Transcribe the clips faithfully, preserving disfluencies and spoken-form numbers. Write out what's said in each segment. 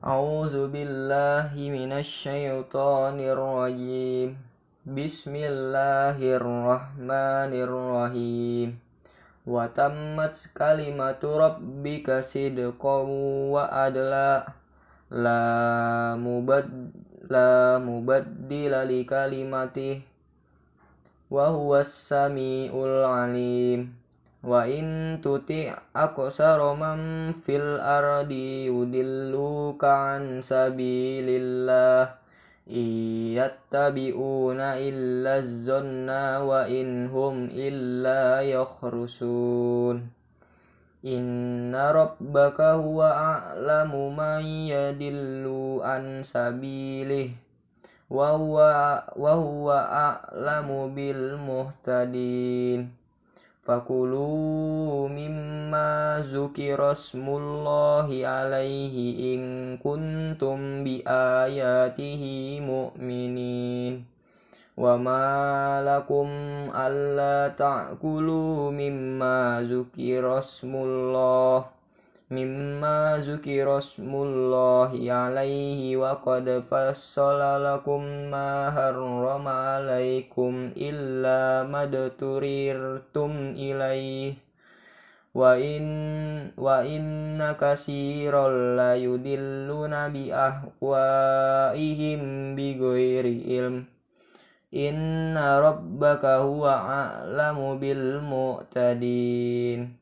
A'udzu billahi minasyaitonir rajim. Bismillahirrahmanirrahim. Wa tammat kalimatu rabbika sidqan wa adla. La mubad la mubaddila li kalimatih. Wa huwas samiul alim. Wa in tuti' aqsara man fil ardi yudilluka an sabilillah iyattabi'una illa zanna wa in hum illa yakhrusun. Inna rabbaka huwa a'lamu man yadillu an sabilih wa huwa wa huwa a'lamu bil muhtadin. Fakulu mimma zukira smullahi alaihi in kuntum bi ayatihi mu'minin. Wa ma lakum alla ta'kulu mimma zukira smullah mimma zukira smullahi alaihi wa qad fassala lakum ma harrama alaikum illa madturirtum ilaih wa in wa inna katsiran la yudilluna bi ahwaihim bighairi ilm. Inna rabbaka huwa a'lamu bil mu'tadin.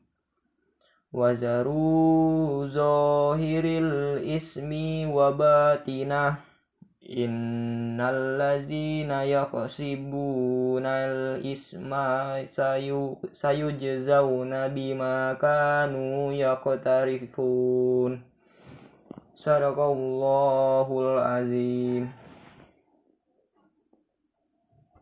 Wazaru zahiril ismi wa batinah. Innal ladzina yaqsibunal isma sayu sayujzauna bima kanu yaqtarifun. Sadaqallahul azim.